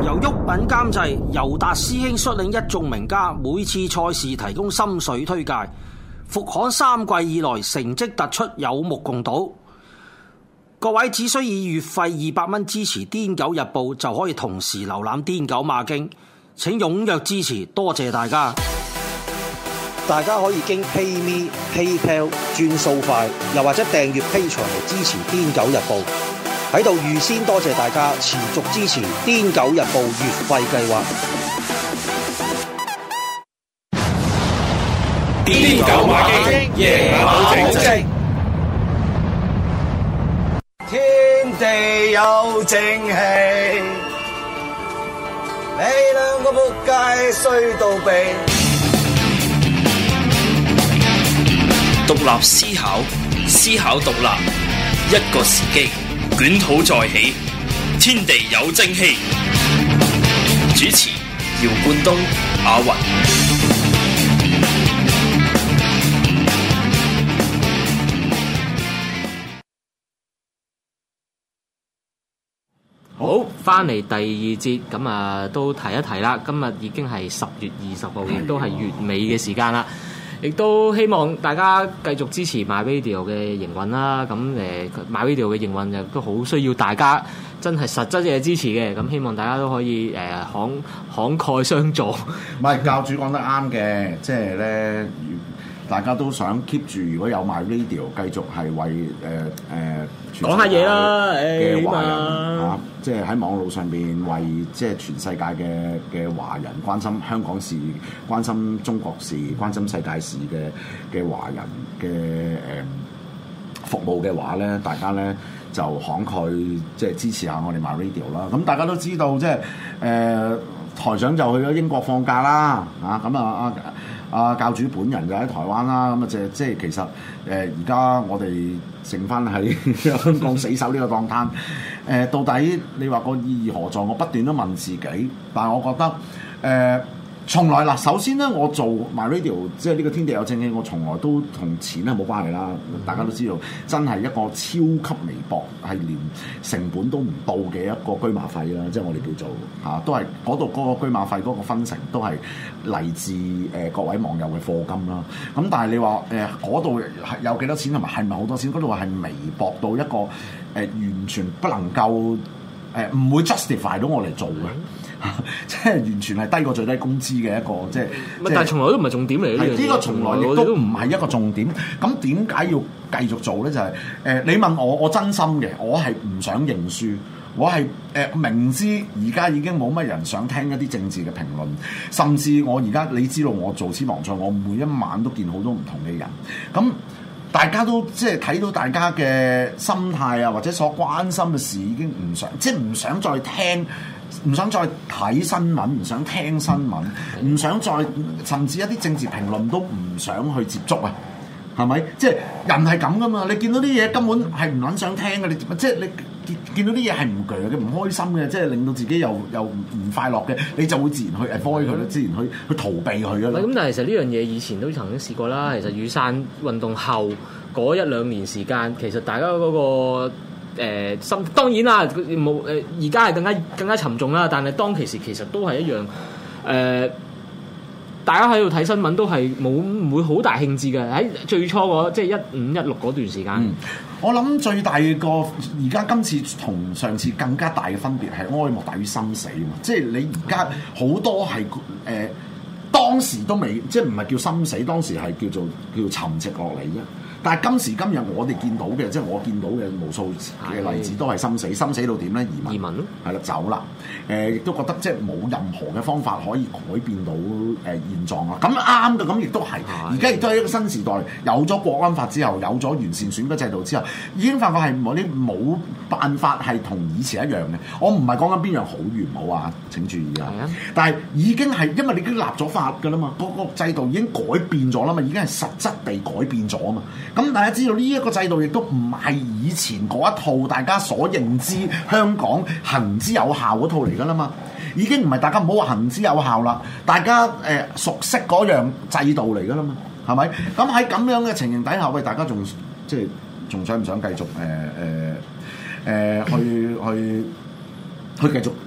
由郁品監製，尤達師兄率領一眾名家，每次賽事提供心水推介。復刊3季以來成績突出，有目共睹。各位只需以月費200蚊支持《癲狗日報》，就可以同時瀏覽《癲狗馬經》。請踴躍支持，多謝大家！大家可以經 PayMe、PayPal 轉數快，又或者訂閱 Patreon 嚟支持《癲狗日報》。喺度預先多謝大家持續支持《癲狗日報》月費計劃。 癲狗馬經，夜馬保證。 天地有正氣，你兩個仆街衰到痹。 獨立思考，思考獨立，一個時機，捲土再起，天地有正氣。主持：姚冠東、阿雲。 好，翻嚟第二節，咁啊都提一提啦。今日已經係10月20號，亦都係月尾嘅時間啦。亦都希望大家繼續支持 MyRadio 嘅營運啦。咁MyRadio 嘅營運亦都好需要大家真係實質嘅支持嘅。咁希望大家都可以慷慨相助。 唔係教主講得啱嘅，即係咧，大家都想 keep 住，如果有 MyRadio 繼續係為講下嘢啦， 嘅華人嚇，即係喺網絡上邊為即係全世界嘅華人關心香港事、關心中國事、關心世界事嘅華人嘅服務嘅話咧，大家咧就慷慨即係支持下我哋 MyRadio 啦。咁大家都知道，即係台長就去咗英國放假啦，咁教主本人就喺台灣啦，咁即係其實而家我哋剩翻喺香港死守呢個檔攤，到底你話個意義何在？我不斷都問自己，但係我覺得從來嗱，首先咧，我做 MyRadio 即係呢個天地有正氣，我從來都同錢係冇關係啦。大家都知道，真係一個超級微薄，係連成本都唔到嘅一個居馬費啦。即係我哋叫做都係嗰度嗰個居馬費嗰個分成都係嚟自各位網友嘅課金啦。咁但係你話嗰度係有幾多錢同埋係咪好多錢？嗰度係微薄到一個完全不能夠唔會 justify 到我嚟做嘅。即係完全係低過最低工資嘅一個，即係。但係從來都唔係重點嚟嘅。呢個從來亦都唔係一個重點。咁點解要繼續做咧？就係你問我，我真心嘅，我係唔想認輸。我係明知而家已經冇乜人想聽一啲政治嘅評論，甚至我而家你知道我做私房菜，我每一晚都見好多唔同嘅人。咁大家都即係睇到大家嘅心態啊，或者所關心嘅事已經唔想，即係唔想再聽。唔想再睇新聞，唔想聽新聞，唔想再甚至一啲政治評論都唔想去接觸啊，係咪？即係人係咁噶嘛？你見到啲嘢根本係唔撚想聽嘅，你即係你見到啲嘢係唔鋸嘅、唔開心嘅，即係令到自己又唔快樂嘅，你就會自然去 avoid 佢啦，自然去逃避佢噶啦。咁但係其實呢樣嘢以前都曾經試過啦。其實雨傘運動後嗰1-2年時間，其實大家嗰個當然啦，冇而家係更加沉重啦。但係當其時其實都係一樣大家喺度睇新聞都係唔會好大興致嘅。喺最初即係15-16嗰段時間，我諗最大個而家今次同上次更加大嘅分別係哀莫大於心死啊嘛！即係你而家好多係當時都未即係唔係叫心死，當時係叫沉寂落嚟啫。但係今時今日我哋見到嘅，即係我見到嘅無數嘅例子都係心死到點咧？移民咯，係啦，走啦。亦都覺得即係冇任何嘅方法可以改變到現狀啊！咁啱嘅，咁亦都係。而家亦都係一個新時代，有咗國安法之後，有咗完善選舉制度之後，已經發覺係冇辦法係同以前一樣嘅。我唔係講緊邊樣好與唔好啊！請注意啊！但係已經係因為你已經立咗法㗎啦嘛，個制度已經改變咗啦嘛，已經係實質地改變咗啊嘛。咁大家知道呢一個制度亦都唔係以前嗰一套大家所認知香港行之有效嗰套嚟㗎啦嘛，已經唔係大家唔好話行之有效啦，大家熟悉嗰樣制度嚟㗎啦嘛，係咪？咁喺咁樣嘅情形底下，喂，大家仲想唔想繼續去繼續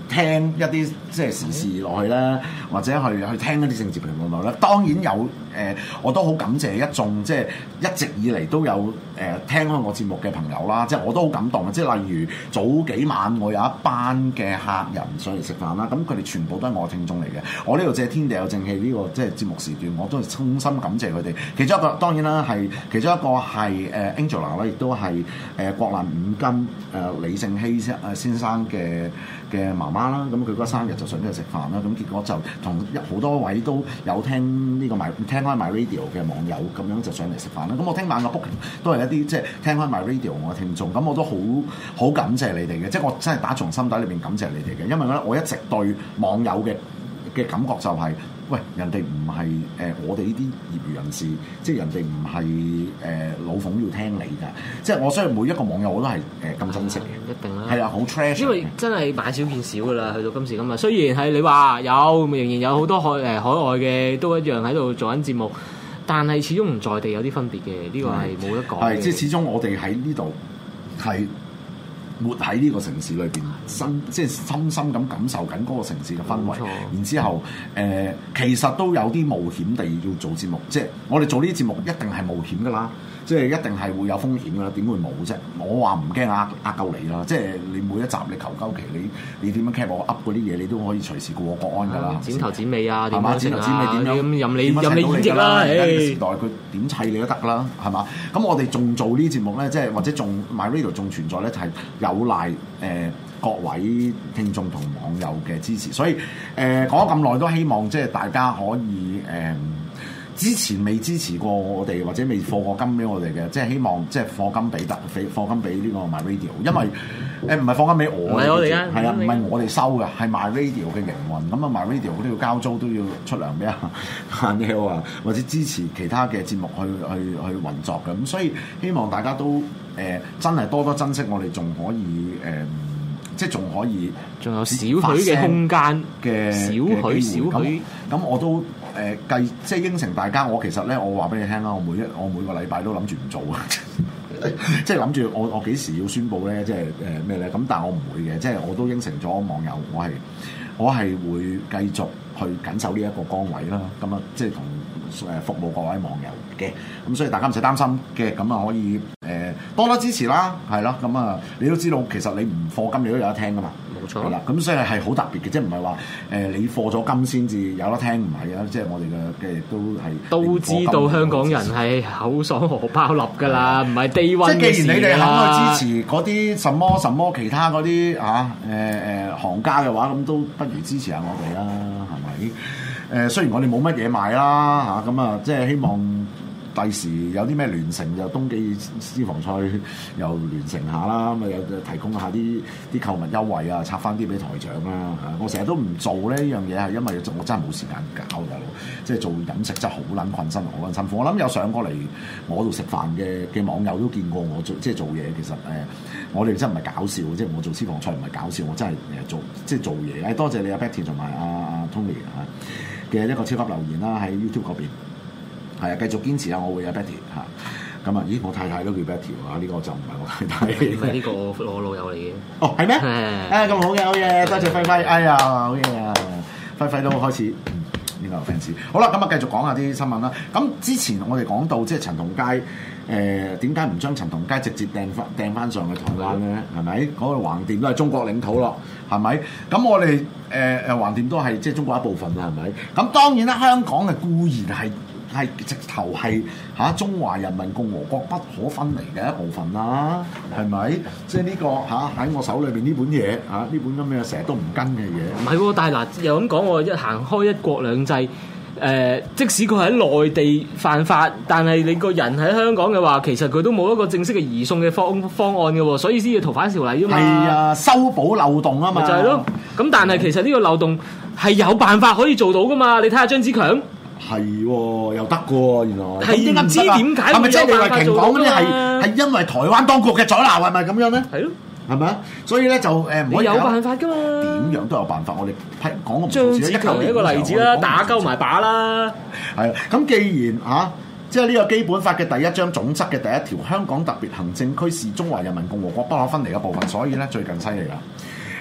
聽一啲即係時事落去咧，或者去聽一啲政治評論落咧。當然有我都好感謝一眾即係一直以嚟都有聽開我節目嘅朋友啦，即係我都好感動嘅。即係例如早幾晚我有一班嘅客人上嚟食飯啦，咁佢哋全部都係我嘅聽眾嚟嘅。我呢度借天地有正氣呢個即係節目時段，我都係衷心感謝佢哋。其中一個當然啦係其中一個係Angela 啦，亦都係國難五金李勝熙先生嘅媽媽啦。咁佢嗰生日就上咗去食飯啦。咁結果就同好多位都有聽呢個聽開 MyRadio 嘅網友咁樣就上嚟食飯啦。咁我聽晚嘅 booking 都係一啲即係聽開 MyRadio 我嘅聽眾，咁我都好感謝你哋嘅，即係我真係打從心底裏邊感謝你哋嘅，因為咧我一直對網友嘅感覺就係、喂，人哋唔係我哋呢啲業餘人士，即係人哋唔係老馮要聽你㗎，即係我相信每一個網友我都係咁珍惜嘅， 一定啦， 係啊，好 treasure， 因為真係買少見少㗎啦，去到今時今日。雖然係你話仍然有好多海外嘅都一樣喺度做緊節目，但係始終唔在地有啲分別嘅，呢個係冇得講嘅。係即係始終我哋喺呢度係活喺呢個城市裏邊，即係深深咁感受緊嗰個城市嘅氛圍。然之後其實都有啲冒險地要做節目，即係我哋做呢啲節目一定係冒險㗎啦，即係一定係會有風險㗎啦，點會冇啫？我話唔驚呃鳩你啦，即係你每一集你求鳩其你點樣 cap 我 up 嗰啲嘢，你都可以隨時過國安㗎啦， 剪頭剪尾啊， 係嘛？剪頭剪尾點樣咁任你演繹啦， 而家嘅時代佢點砌你都得㗎啦，係嘛？咁我哋仲做呢啲節目咧，即係或者仲 MyRadio 仲存在咧，就係有賴各位聽眾同網友嘅支持，所以講咗咁耐都希望即係大家可以之前未支持過我哋或者未課過金俾我哋嘅，即係希望即係課金俾呢個 MyRadio， 因為唔係課金俾我， 唔係我哋啊， 係啊，唔係我哋收嘅，係 MyRadio 嘅營運。咁啊 MyRadio 都要交租，都要出糧俾阿 Neil 啊，或者支持其他嘅節目去運作嘅。咁所以希望大家都真係多多珍惜我哋，仲可以即係仲可以，仲有少許嘅空間嘅少許。咁我都即係應承大家。我其實咧，我話俾你聽啦，我每個禮拜都諗住唔做啊，即係諗住我幾時要宣佈咧？即係咩咧？咁但係我唔會嘅，即係我都應承咗網友，我係會繼續去緊守呢一個崗位啦。咁啊，即係同服務各位網友嘅。咁所以大家唔使擔心嘅，咁啊可以多多支持啦，係咯。咁啊，你都知道其實你唔課金你都有得聽噶嘛，冇錯。係啦，咁所以係好特別嘅，即係唔係話你課咗金先至有得聽，唔係啊，即係我哋嘅都知道香港人係口爽荷包立㗎啦，唔係低溫嘅事啦。即係既然你哋肯去支持嗰啲什麼其他嗰啲行家嘅話，咁都不如支持下我哋啦，係咪？雖然我哋冇乜嘢賣啦嚇，咁啊即係希望第時有啲咩聯乘就冬季私房菜又聯乘下啦，咁啊有提供下啲購物優惠啊，拆翻啲俾台長啦嚇。我成日都唔做呢樣嘢係因為我真係冇時間搞嘅，即係做飲食真係好撚困身，好撚辛苦。我諗有上過嚟我度食飯嘅網友都見過我即係做嘢，其實我哋真係唔係搞笑，即係我做私房菜唔係搞笑，我真係做嘢。多謝你阿 Betty 同埋阿 Tony 嘅一個超級留言啦，喺 YouTube 嗰邊。係啊，繼續堅持啊！我會有 Betty 嚇，咁啊，咦，我太太都叫 Betty 啊，呢個就唔係我太太。唔係呢個我老友嚟嘅。哦，係咩？咁好嘅，好嘢，多謝輝輝。哎呀，好嘢啊！輝輝都開始呢個 fans。好啦，咁啊，繼續講下啲新聞啦。咁之前我哋講到即係陳同佳點解唔將陳同佳直接掟翻上去台灣咧？係咪？嗰個橫掂都係中國領土咯，係咪？咁我哋橫掂都係即係中國一部分啦，係咪？咁當然啦，香港嘅固然係直頭係中華人民共和國不可分離嘅一部分啦，係咪？即係呢個喺我手裏邊呢本嘢呢本咁嘅成日都唔跟嘅嘢。唔係喎，但係嗱又咁講喎，一行開一國兩制，即使佢喺內地犯法，但係你個人喺香港嘅話，其實佢都冇一個正式嘅移送嘅方案嘅喎，所以先要逃犯條例啊嘛。係啊，修補漏洞啊嘛。就係咯。咁但係其實呢個漏洞係有辦法可以做到噶嘛？你睇下張子強。係喎，又得嘅喎，原來係唔知點解係咪即係李慧瓊講嗰啲係因為台灣當局嘅阻撓係咪咁樣咧？係咯，係咪啊？所以咧就唔可以有辦法㗎嘛？點樣都有辦法，我哋講個張子強係一個例子啦，打鳩埋靶啦。係啊，咁既然即係呢個基本法嘅第一章總則嘅第一條，香港特別行政區是中華人民共和國不可分離嘅部分，所以咧最近犀利啦。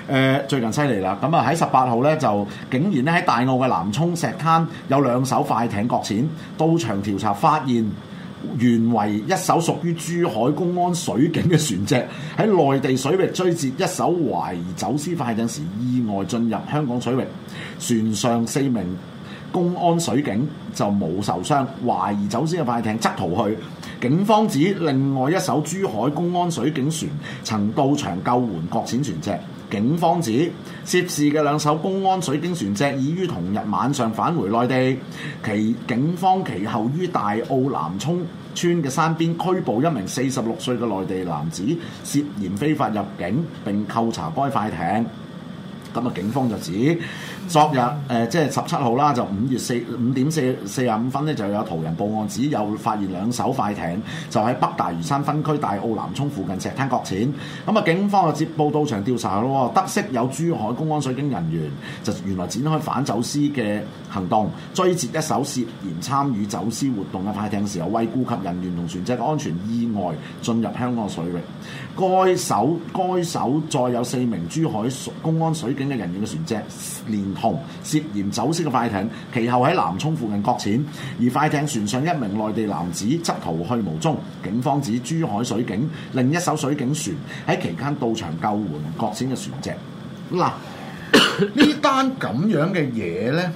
最近犀利啦，咁啊喺18號咧就竟然咧喺大澳嘅南涌石灘有2艘快艇擱淺，到場調查發現原為一艘屬於珠海公安水警嘅船隻喺內地水域追截一艘懷疑走私快艇時意外進入香港水域，船上4名公安水警就冇受傷，懷疑走私嘅快艇則逃去。警方指另外一艘珠海公安水警船曾到場救援擱淺船隻。警方指涉事嘅2艘公安水警船隻已於同日晚上返回內地。警方其後於大澳南涌村嘅山邊拘捕1名46歲嘅內地男子，涉嫌非法入境並扣查該快艇。咁啊，警方就指昨日即係17號啦，就5點45分咧，就有途人報案指有發現2艘快艇就喺北大嶼山分區大澳南涌附近石灘擱淺。咁啊，警方就接報到場調查咯，得悉有珠海公安水警人員就原來展開反走私嘅行動，追截一艘涉嫌參與走私活動嘅快艇時候，為顧及人員同船隻嘅安全，意外進入香港水域。該艘載有4名珠海公安水警嘅人員嘅船隻，連同涉嫌走私嘅快艇，其後喺南涌附近擱淺，而快艇船上1名內地男子則逃去無蹤。警方指珠海水警另一艘水警船喺期間到場救援擱淺嘅船隻。嗱，呢單咁樣嘅嘢咧，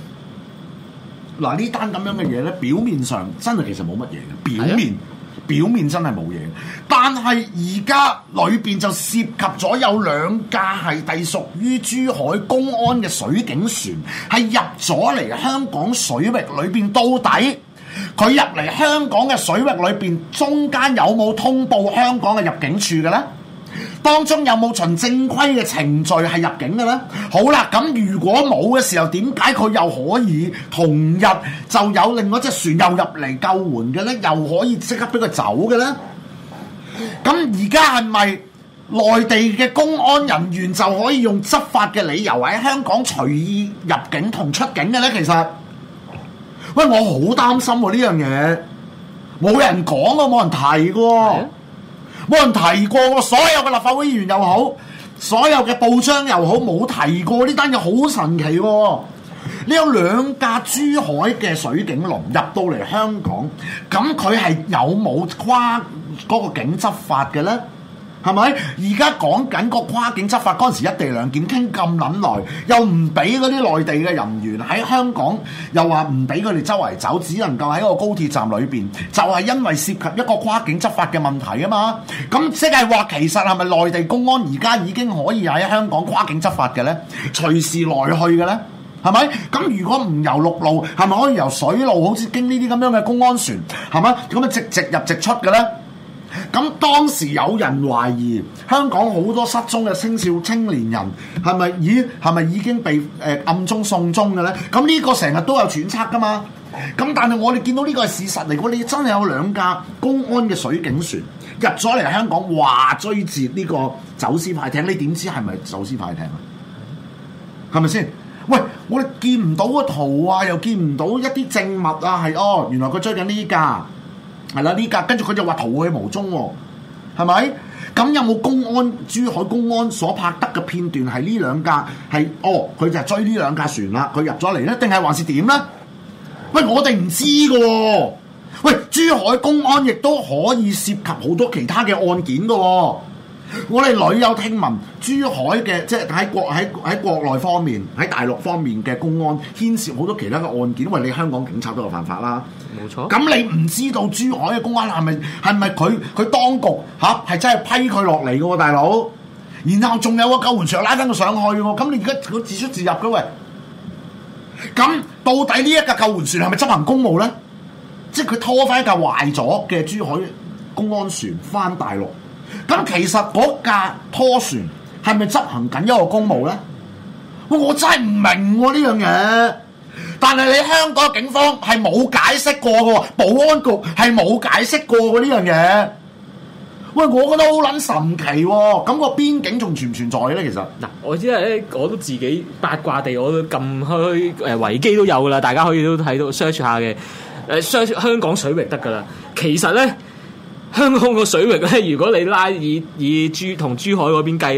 表面上真係其實冇乜嘢嘅，表面真係冇嘢，但係而家裏邊就涉及咗有2架係隸屬於珠海公安嘅水警船，係入咗嚟香港水域裏邊。到底佢入嚟香港嘅水域裏邊，中間有冇通報香港嘅入境處嘅呢？當中有冇循正規嘅程序係入境嘅呢？好啦，咁如果冇嘅時候，點解佢又可以同日就有另外一隻船又入嚟救援嘅呢？又可以即刻俾佢走嘅呢？咁而家係咪內地嘅公安人員就可以用執法嘅理由喺香港隨意入境同出境嘅呢？其實，喂，我好擔心喎呢樣嘢，冇人講喎，冇人提喎。冇人提過喎，所有嘅立法會議員又好，所有嘅報章又好，冇提過呢單嘢，好神奇喎！你有2架珠海嘅水警龍入到嚟香港，咁佢係有冇跨嗰個境執法嘅呢？係咪？而家講緊個跨境執法嗰陣時，一地兩檢傾咁撚耐，又唔俾嗰啲內地嘅人員喺香港，又話唔俾佢哋周圍走，只能夠喺個高鐵站裏邊，就係因為涉及一個跨境執法嘅問題啊嘛。咁即係話，其實係咪內地公安而家已經可以喺香港跨境執法嘅呢？隨時來去嘅呢？係咪？咁如果唔由陸路，係咪可以由水路，好似經呢啲咁樣嘅公安船，係咪？咁啊直入直出嘅呢？咁當時有人懷疑香港好多失蹤嘅青年人係咪已經被暗中送終嘅咧？咁呢個成日都有揣測噶嘛。咁但係我哋見到呢個係事實嚟，你真係有2架公安嘅水警船入咗嚟香港，話追截呢個走私快艇，你點知係咪走私快艇啊？係咪先？喂，我哋見唔到個圖啊，又見唔到一啲證物啊，係原來佢追緊呢架。係啦，呢架跟住佢就話逃去無蹤喎，係咪？咁有冇珠海公安所拍得嘅片段係呢2架係？佢就係追呢2架船啦，佢入咗嚟咧，定係還是點咧？喂，我哋唔知㗎喎。喂，珠海公安亦都可以涉及好多其他嘅案件㗎喎。我哋屢有聽聞珠海嘅即係喺國內方面，喺大陸方面嘅公安牽涉好多其他嘅案件，因為你香港警察都有犯法啦。 冇錯。咁你唔知道珠海嘅公安係咪佢當局係真係批佢落嚟嘅喎，大佬？然後仲有個救援船拉翻佢上去喎，咁你而家佢自出自入嘅喂？咁到底呢一架救援船係咪執行公務咧？即係佢拖翻一架壞咗嘅珠海公安船翻大陸？咁其實嗰架拖船係咪執行緊一個公務咧？我真係唔明喎呢樣嘢。但係你香港警方係冇解釋過嘅喎，保安局係冇解釋過嘅呢樣嘢。喂，我覺得好撚神奇喎。咁個邊境仲存唔存在咧？其實嗱，我知咧，我都自己八卦地，我都撳開維基都有噶啦，大家可以都睇到 search 下嘅，search 香港水域得噶啦。其實咧，香港個水域咧，如果你拉以同珠海嗰邊計咧，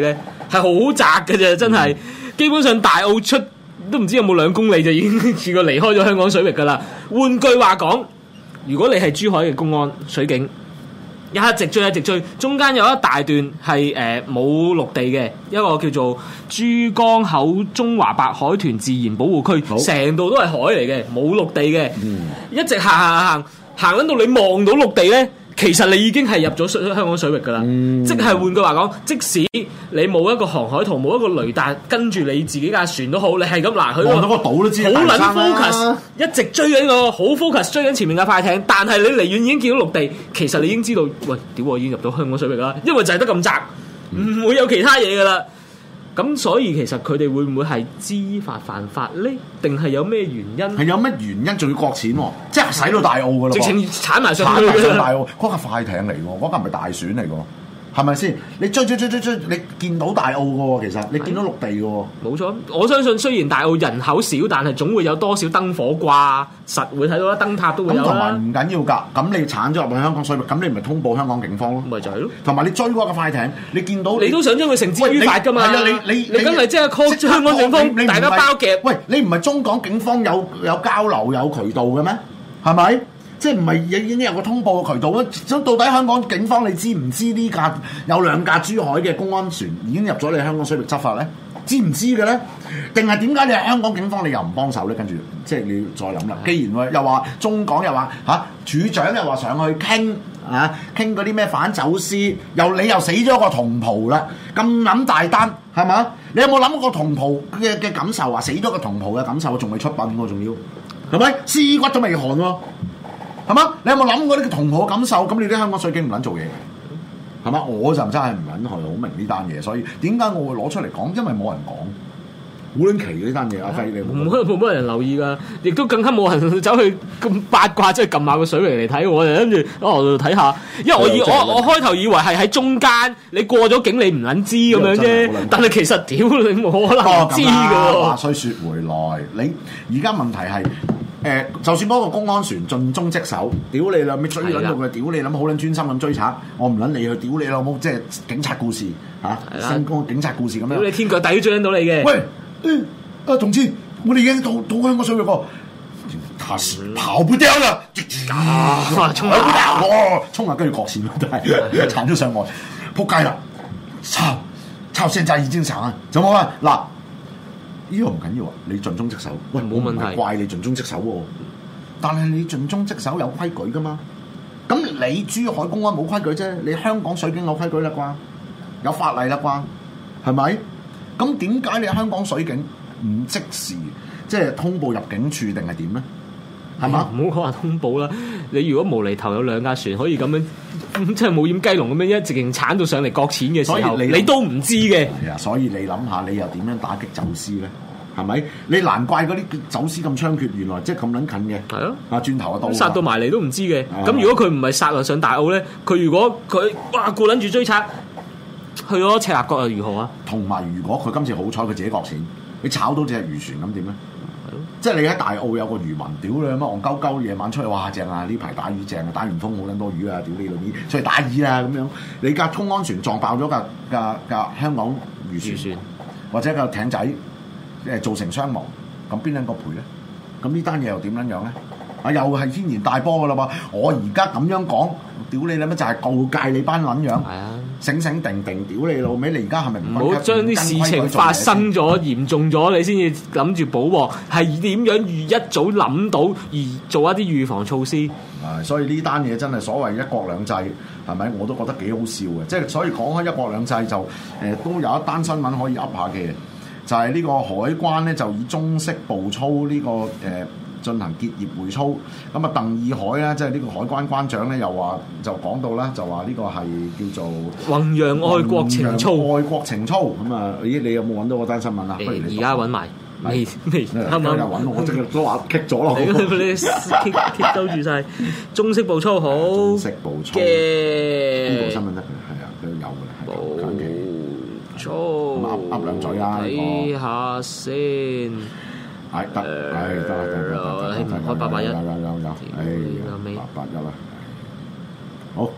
係好窄嘅啫，真係。基本上大澳出都唔知有冇2公里就已經試過離開咗香港水域㗎啦。換句話講，如果你係珠海嘅公安水警，一直追，中間有一大段係冇陸地嘅，一個叫做珠江口中華白海豚自然保護區，成度都係海嚟嘅，冇陸地嘅，一直行緊到你望到陸地咧，其實你已經係入咗香港水域㗎啦。即係換句話講，即使你冇一個航海圖，冇一個雷達跟住你自己架船都好，你係咁嗱，佢望到個島都知好撚 focus， 一直追緊個好 focus 追緊前面嘅快艇，但係你離遠已經見到陸地，其實你已經知道，喂，屌我已經入到香港水域啦，因為就係得咁窄，唔會有其他嘢㗎啦。咁所以其實佢哋會唔會係知法犯法咧？定係有咩原因？ 係有咩原因仲要國錢喎？即係使到大澳㗎咯， 直情鏟埋上去大澳，嗰架快艇嚟喎，嗰架唔係大船嚟㗎。係咪先？你追，你見到大澳嘅喎，其實你見到陸地嘅喎。冇錯，我相信雖然大澳人口少，但係總會有多少燈火掛，實會睇到啦，燈塔都會有啦。咁同埋唔緊要㗎，咁你鏟咗入去香港水域，咁你咪通報香港警方咯。 咪就係咯。同埋你追嗰個快艇，你見到你都想將佢繩之於法㗎嘛？係啊，你梗係即係 call 香港警方，大家包夾。 喂，你唔係中港警方有交流有渠道嘅咩？係咪？即係唔係已經有個通報嘅渠道咧？咁到底香港警方你知唔知呢架有2架珠海嘅公安船已經入咗你香港水域執法咧？知唔知嘅咧？定係點解你係香港警方你又唔幫手咧？跟住即係你要再諗啦。既然又話中港又話處長又話上去傾嗰啲咩反走私，你又死咗個同袍啦，咁諗大單係嘛？你有冇諗過同袍嘅感受啊？死咗個同袍嘅感受仲未出殯喎，仲要係咪屍骨都未寒喎？係嘛？你有冇諗過呢個同袍感受？咁你啲香港水警唔撚做嘢，係嘛？我就真係唔撚係好明呢單嘢，所以點解我會攞出嚟講？因為冇人講，好撚奇嘅呢單嘢。阿輝你冇乜人留意㗎，亦都更加冇人走去咁八卦，即係撳下個水域嚟睇。我就跟住我睇下，因為我開頭以為係喺中間，你過咗境你唔撚知咁樣啫。但係其實屌你冇可能知㗎喎。 話雖説回來，你而家問題係。就算嗰個公安船盡忠職守，屌你啦，咪追撚到佢，屌你諗好撚專心咁追查，我唔撚理佢，屌你老母，即係警察故事新光警察故事咁樣。 屌你天腳底都追撚到你嘅。 喂，同志，我哋已經到香港水域喎，他是跑不掉啦，衝啊，跟住國線都係鏟咗上岸，撲街啦，抄現在已經鏟啊，就冇啦嗱。呢個唔緊要啊！你盡忠職守，喂，冇問題，怪你盡忠職守喎。但係你盡忠職守有規矩噶嘛？咁你珠海公安冇規矩啫，你香港水警有規矩啦啩，有法例啦啩，係咪？咁點解你香港水警唔即時即係通報入境處定係點咧？係嘛？ 唔好講話通報啦！你如果無厘頭有2架船可以咁樣，即係冇掩雞籠咁樣一直勁鏟到上嚟擱淺嘅時候，你都唔知嘅。 係啊，所以你諗下，你又點樣打擊走私咧？係咪？你難怪嗰啲走私咁猖獗，原來即係咁撚近嘅。係咯，轉頭就到殺到埋嚟都唔知嘅。咁如果佢唔係殺落上大澳咧，佢如果佢哇顧撚住追賊去咗赤鱲角又如何啊？ 同埋如果佢今次好彩佢自己擱淺，你炒到隻漁船咁點咧？即係你喺大澳有個漁民，屌你乜戇鳩鳩，夜晚出去哇正啊！呢排打魚正啊，打完風好撚多魚啊！屌你老味，出去打魚啦咁樣。你架公安船撞爆咗架香港漁船，或者個艇仔造成傷亡，咁邊撚個賠咧？咁呢單嘢又點撚樣咧？又係天然大波噶啦嘛！我而家咁樣講，屌你啦咩？就係告誡你班撚樣。係啊。醒醒定定，屌你老味！你而家係咪唔好將啲事情發生咗、嚴重咗，你先至諗住補鑊？係點樣一早諗到而做一啲預防措施？ 所以呢單嘢真係所謂一國兩制，係咪？我都覺得幾好笑嘅。即係所以講開一國兩制就都有一單新聞可以噏下嘅，就係呢個海關咧就以中式步操呢個進行結業會操，咁啊鄧義海咧，即係呢個海關關長咧，又話就講到啦，就話呢個係叫做弘揚愛國情操， 愛國情操咁啊！咦，你有冇揾到嗰單新聞啊？ 而家揾埋，未啱啱又揾我，即係都話棘咗咯。 你貼兜住晒中式步操好， 中式步操嘅呢部新聞得嘅，係啊，佢有嘅，係近期。 操噏兩嘴啦， 睇下先。 係得，得， 開881， 有，881啦，好得啦。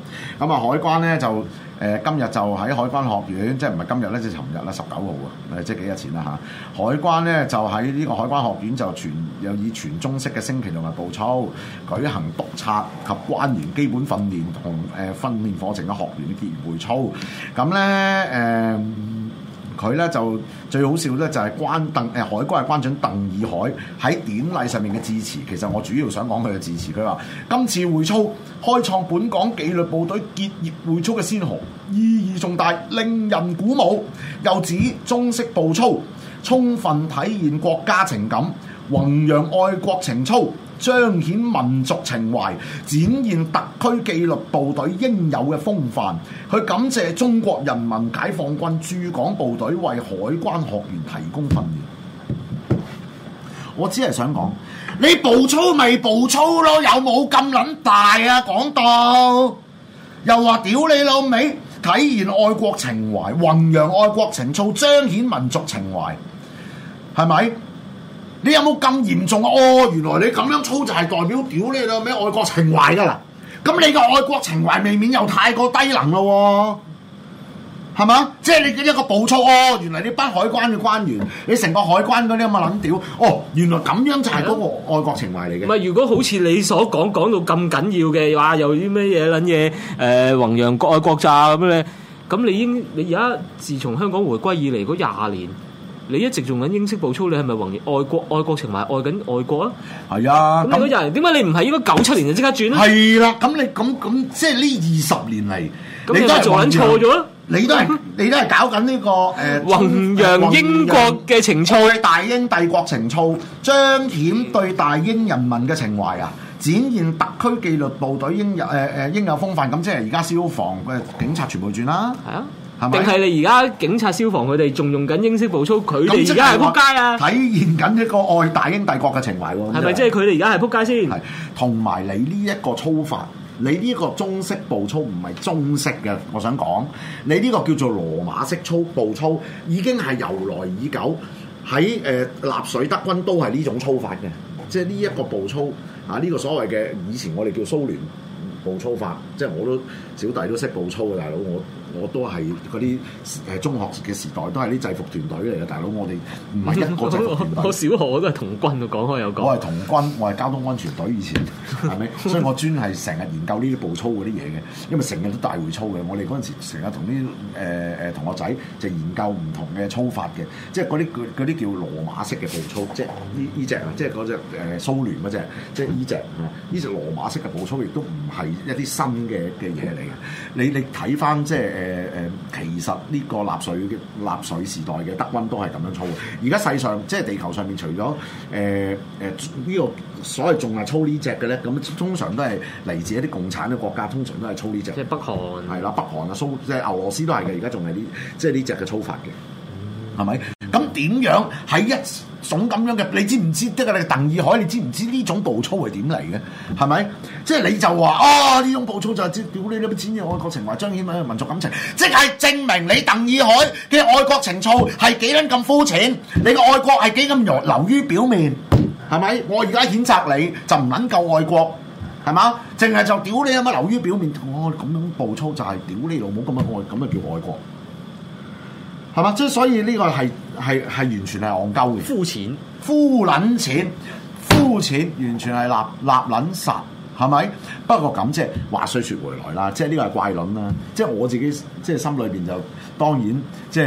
咁啊，海關咧就今日就喺海關學院，即係唔係今日咧，即係尋日啦，19號啊，即係幾日前啦嚇。海關咧就喺呢個海關學院就又以全中式嘅升旗同埋步操舉行督察及關員基本訓練同訓練課程嘅學員嘅結業會操。咁咧佢咧就最好笑咧，就係海關嘅關長鄧以海喺典禮上面嘅致辭。其實我主要想講佢嘅致辭。佢話：今次會操開創本港紀律部隊結業會操嘅先河，意義重大，令人鼓舞。又指中式步操充分體現國家情感，弘揚愛國情操，彰顯民族情懷，展現特區紀律部隊應有嘅風範。佢感謝中國人民解放軍駐港部隊為海關學員提供訓練。我只係想講，你步操咪步操咯，有冇咁撚大啊？講到又話屌你老味，體現愛國情懷，弘揚愛國情操，彰顯民族情懷，係咪？你有冇咁嚴重啊？哦，原來你咁樣操就係代表屌你老味愛國情懷㗎啦！咁你個愛國情懷未免又太過低能咯喎，係嘛？即係你嘅一個步操哦，原來你班海關嘅關員，你成個海關嗰啲咁嘅撚屌，哦，原來咁樣就係嗰個愛國情懷嚟嘅。 唔係，如果好似你所講到咁緊要嘅話，又啲咩嘢撚嘢弘揚愛國咋咁咧？咁你而家自從香港回歸以嚟嗰20年。你一直用緊英式步操，你係咪弘揚愛國情懷，愛緊愛國啊？係啊， 咁嗰人點解你唔係應該97年就即刻轉咧？ 係啦，咁你咁即係呢20年嚟， 你都係做緊錯咗啦！ 你都係搞緊呢個弘揚英國嘅情操， 大英帝國情操，彰顯對大英人民嘅情懷啊！展現特區紀律部隊應有風範，咁即係而家消防嘅警察全部轉啦，係啊。 定係你而家警察消防佢哋仲用緊英式步操，佢哋而家係撲街啊！ 體現緊一個愛大英帝國嘅情懷喎， 係咪即係佢哋而家係撲街先？ 係，同埋你呢一個操法，你呢個中式步操唔係中式嘅，我想講，你呢個叫做羅馬式步操，已經係由來已久，喺納粹德軍都係呢種操法嘅，即係呢一個步操啊，呢個所謂嘅以前我哋叫蘇聯步操法，即係我都小弟都識步操嘅大佬，我都係嗰啲中學嘅時代都係啲制服團隊嚟嘅大佬，我哋唔係一個制服團隊。我小學我都係童軍，講開有講。我係童軍，我係交通安全隊以前，係咪？所以我專係成日研究呢啲步操嗰啲嘢嘅，因為成日都大會操嘅。我哋嗰陣時成日同啲同學仔就研究唔同嘅操法嘅，即係嗰啲叫羅馬式嘅步操，即係呢隻啊，即係嗰隻蘇聯嗰隻，即係呢隻羅馬式嘅步操，亦都唔係一啲新嘅嘢嚟嘅。你睇翻即係其實呢個納粹時代嘅德軍都係咁樣操嘅。而家世上即係地球上面除咗呢個所謂仲係操呢隻嘅咧，咁通常都係嚟自一啲共產嘅國家，通常都係操呢隻。即係北韓係啦，北韓啊即係俄羅斯都係嘅，而家仲係即係呢隻嘅操法嘅，係咪？咁點樣喺一種咁樣嘅？你知唔知？即係你鄧以海，你知唔知呢種步操係點嚟嘅？係咪？即係你就話呢種步操就係屌你啲錢嘅愛國情懷，彰顯民族感情，即係證明你鄧以海嘅愛國情操係幾撚咁膚淺，你嘅愛國係幾咁流於表面，係咪？我而家譴責你就唔撚夠愛國，係嘛？淨係就屌你有乜流於表面，我咁樣步操就係屌你老母咁樣愛，咁就叫愛國。係嘛？即係所以呢個係完全係戇鳩嘅，膚淺，完全係立撚實，係咪？不過咁即係話雖說回來啦，即係呢個係怪論啦。即係我自己即係心裏邊就當然即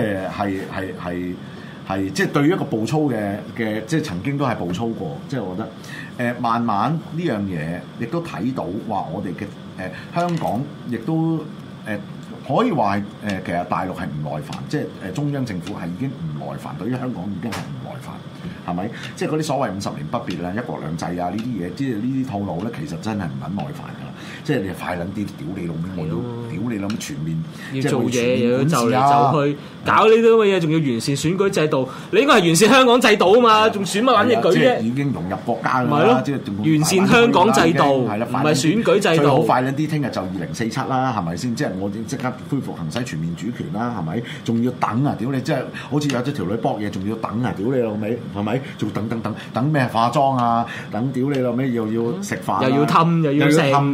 係即係對於一個步操嘅即係曾經都係步操過，即係我覺得慢慢呢樣嘢亦都睇到話我哋嘅香港亦都可以話係其實大陸係唔耐煩，即係中央政府係已經唔耐煩，對於香港已經係唔耐煩，係咪？即係嗰啲所謂50年不變啊、一國兩制啊呢啲嘢，即係呢啲套路咧，其實真係唔撚耐煩㗎啦。即係你快撚啲屌你老味，我要屌你諗全面要做嘢，又要就嚟就去搞呢啲咁嘅嘢，仲要完善選舉制度。你應該係完善香港制度啊嘛，仲選乜撚嘢舉啫？ 已經融入國家㗎啦，即係完善香港制度，唔係選舉制度。 最好快撚啲，聽日就2047啦，係咪先？即係我即刻恢復行使全面主權啦，係咪？仲要等啊！屌你，即係好似有咗條女搏嘢，仲要等啊！屌你老味，係咪？仲等咩化妝啊？等屌你老味，又要食飯， 又要氹，又要食，屌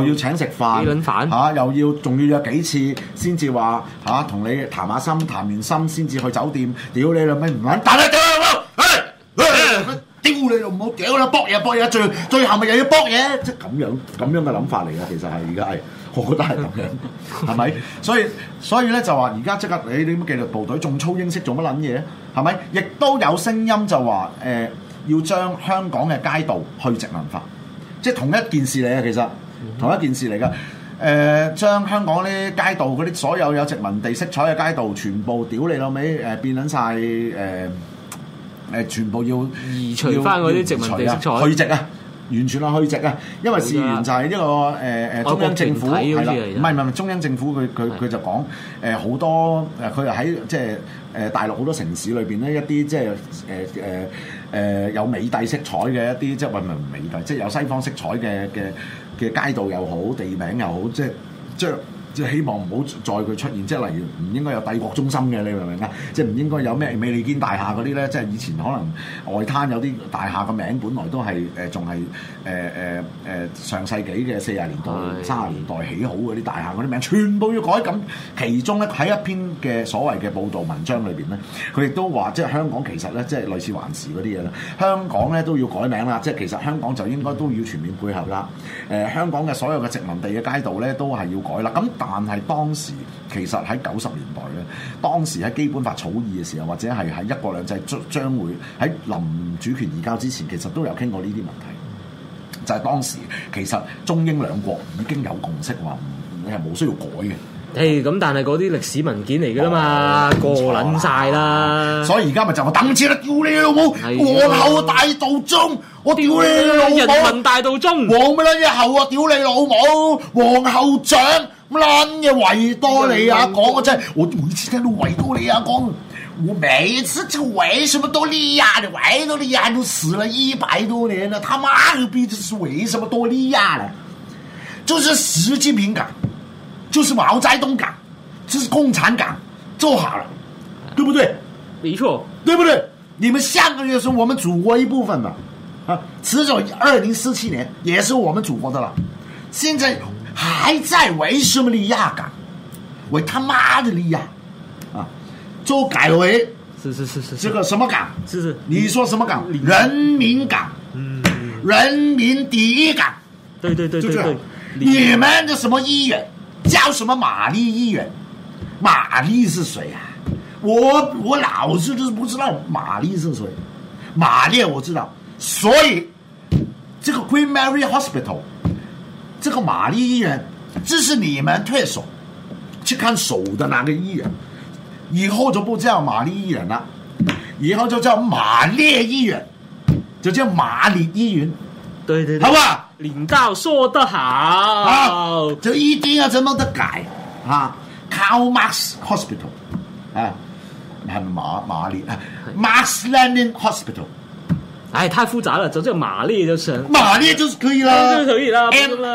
又要請食飯， 幾輪飯又要仲要約幾次先至話同你談下心，談完心先至去酒店。屌你老味唔撚，但係屌你老母，屌你老母，屌啦，搏嘢，最後咪又要搏嘢，即係咁樣嘅諗法嚟嘅。其實係而家係，我覺得係咁樣，係咪？所以咧就話而家即刻你啲紀律部隊仲操英式做乜撚嘢？係咪？亦都有聲音就話要將香港嘅街道去殖民化，即係同一件事嚟嘅，其實同一件事嚟㗎。將香港啲街道嗰啲所有有殖民地色彩嘅街道，全部屌你老味變撚晒全部要移除翻嗰啲殖民地色彩， 去殖啊！完全係去殖啊！因為事源就係呢個中央政府係啦，唔係中央政府佢就講好多佢又喺即係大陸好多城市裏邊咧一啲即係有美帝色彩嘅一啲即係唔係美帝，即係有西方色彩嘅街道又好，地名又好，即係希望唔好再佢出現，即係例如唔應該有帝國中心嘅，你明唔明啊？即係唔應該有咩美利堅大廈嗰啲咧，即係以前可能外灘有啲大廈嘅名本來都係仲係上世紀嘅40年代、30年代起好嗰啲大廈嗰啲名，全部要改。咁其中咧喺一篇嘅所謂嘅報導文章裏邊咧，佢亦都話即係香港其實咧即係類似環時嗰啲嘢啦，香港咧都要改名啦，即係其實香港就應該都要全面配合啦。香港嘅所有嘅殖民地嘅街道咧都係要改啦。咁但係當時其實喺90年代咧，當時喺基本法草擬嘅時候，或者係喺一國兩制將會喺臨主權移交之前，其實都有傾過呢啲問題。就係當時其實中英兩國已經有共識話，你係冇需要改嘅。 咁但係嗰啲歷史文件嚟㗎啦嘛，過撚晒啦。 所以而家咪就話等住啦，屌你老母！皇后大道中，我屌你老母！ 人民大道中， 皇乜撚嘢后啊？屌你老母！皇后獎乜撚嘢維多利亞港啊！真係我每次聽到維多利亞港，我每次就為什麼多利亞的維多利亞都死了100多年了，他媽個逼，這是為什麼多利亞呢？就是習近平港。就是毛澤東港，這是共產港，做好了，對不對？ 沒錯， 對不對？你們香港也是我們祖國一部分嘛，遲早2047年也是我們祖國的了。現在還在為什麼利亞港？為他媽的利亞啊！就改為是這個什麼港？ 是你說什麼港？人民港，人民第一港。 對， 你們的什麼議員？叫什麼瑪麗議員？瑪麗是誰啊？我老是就是不知道瑪麗是誰。瑪麗我知道，所以這個 Queen Mary Hospital， 這個瑪麗醫院，這是你們退守去看手的那個醫院，以後就不叫瑪麗醫院了，以後就叫瑪麗醫院，就叫瑪麗醫院。 對， 好吧？ 領導說得好， 就一定要這麼的改啊 ！Karl Marx Hospital 啊，係瑪麗 Marx Lenin Hospital， 太複雜了，就叫瑪麗就成， 瑪麗就是可以啦， 就可以啦。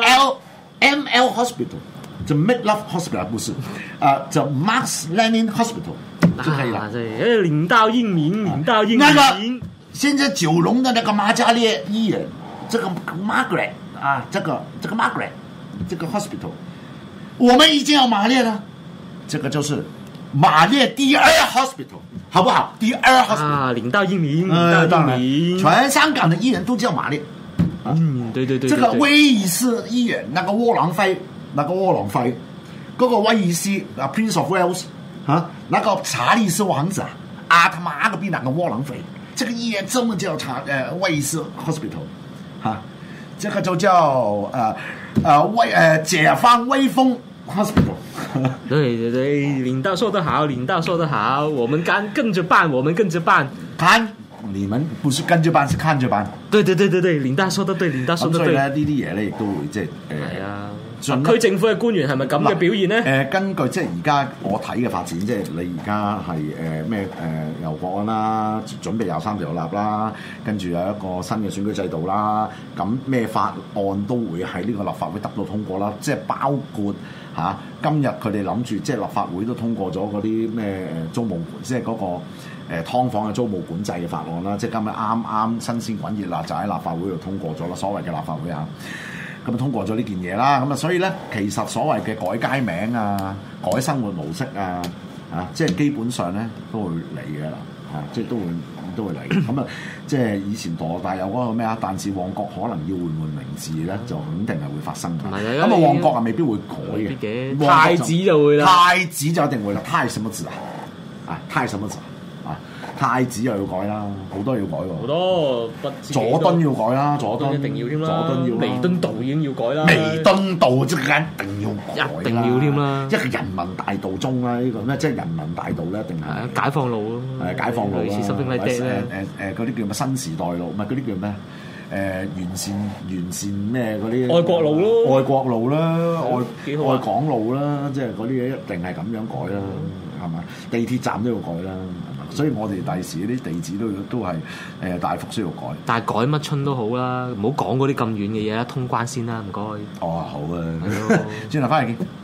ML Hospital 就 Make Love Hospital 不是就 Marx Lenin Hospital 就可以了。 領導英明，領導英明。 那個現在九龍的那個瑪嘉烈醫院。這個 Margaret 啊，這個 Margaret， 這個 hospital， 我們已經有瑪麗了，這個就是瑪麗第二 hospital， 好不好？第二 hospital 啊， 領導英明，領導英明， 全香港的醫院都叫瑪麗。 對， 這個威爾斯醫院，那個窩囊廢，嗰個威爾斯啊 Prince of Wales 啊，那個查理斯王子啊，他媽個逼那個窩囊廢，這個醫院真的叫威爾斯 hospital。這個就叫解放威風 hospital。 對，領導說得好，領導說得好，我們跟着辦， 看你們不是跟着辦，是看着辦。 對，領導說得對，領導說得對。 所以咧呢啲嘢咧亦都會即係係啊。特區政府嘅官員係咪咁嘅表現咧？ 根據即係而家我睇嘅發展，即係你而家係咩由國安啦，準備23條立啦，跟住有一個新嘅選舉制度啦，咁咩法案都會喺呢個立法會得到通過啦，即係包括今日佢哋諗住即係立法會都通過咗嗰啲咩租務，即係嗰個劏房嘅租務管制嘅法案啦，即係今日啱新鮮滾熱辣就喺立法會度通過咗啦，所謂嘅立法會啊。 咁啊通過咗呢件嘢啦。咁啊所以咧，其實所謂嘅改街名啊、改生活模式啊，即係基本上咧都會嚟嘅啦，即係都會嚟。咁啊，即係以前羅大有嗰個咩啊？但是旺角可能要換名字咧，就肯定係會發生嘅。咁啊，旺角啊未必會改嘅， 太子就會啦， 太子就一定會啦。太什麼字啊？太什麼字啊？太子又要改啦，好多要改喎。 好多不知佐敦要改啦，佐敦一定要添啦， 佐敦要啦， 彌敦道已經要改啦， 彌敦道即係一定要改啦， 一定要添啦。 一個人民大道中啦，呢個咩即係人民大道咧，一定係解放路咯， 解放路啦， 類似濕冰禮啲咧， 嗰啲叫咩新時代路，唔係嗰啲叫咩？完善咩嗰啲？ 愛國路咯， 愛國路啦，愛港路啦，即係嗰啲嘢一定係咁樣改啦，係嘛？地鐵站都要改啦，係嘛？所以我哋第時啲地址都係大幅需要改。 但係改乜春都好啦，唔好講嗰啲咁遠嘅嘢啦，通關先啦，唔該。 哦，好啊，轉頭翻嚟見。